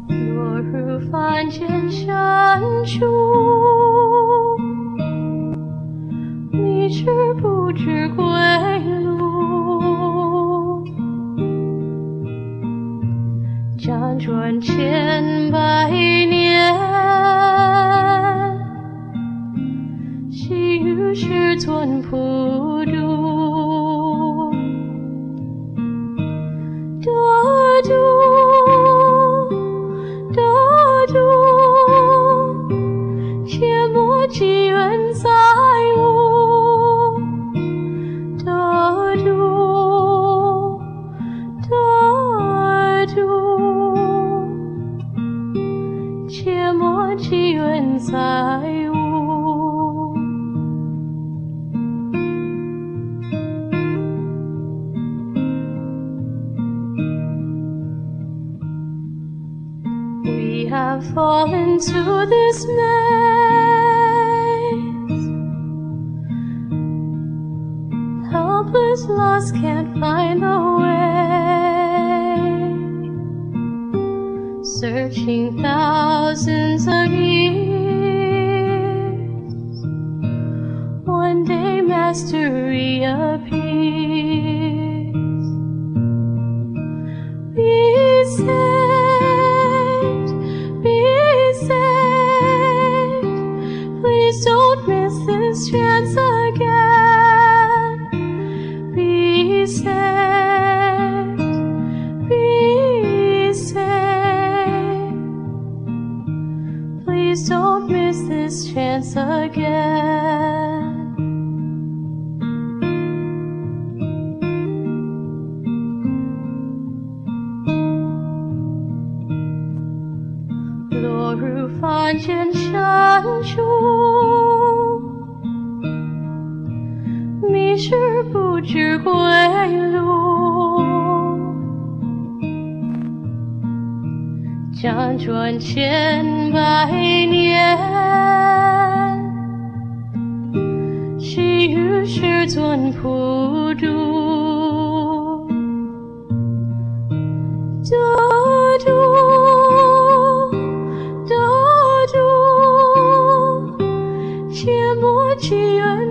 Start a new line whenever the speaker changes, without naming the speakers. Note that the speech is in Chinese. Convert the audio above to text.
落入凡间深处，迷失不知归路，辗转千百年，细雨世尊普渡，得度。切莫积怨载物，得度，得度，切莫积怨载物。We have fallen to this maze, helpless, lost, can't find the way, searching thousands of years. One day mastery appears. Be saved, be saved. Please don't miss this chance again. Be saved, be saved. Please don't miss this chance again.落入凡间深处，迷失不知归路，辗转千百年，细雨世尊普渡，得度。切莫积怨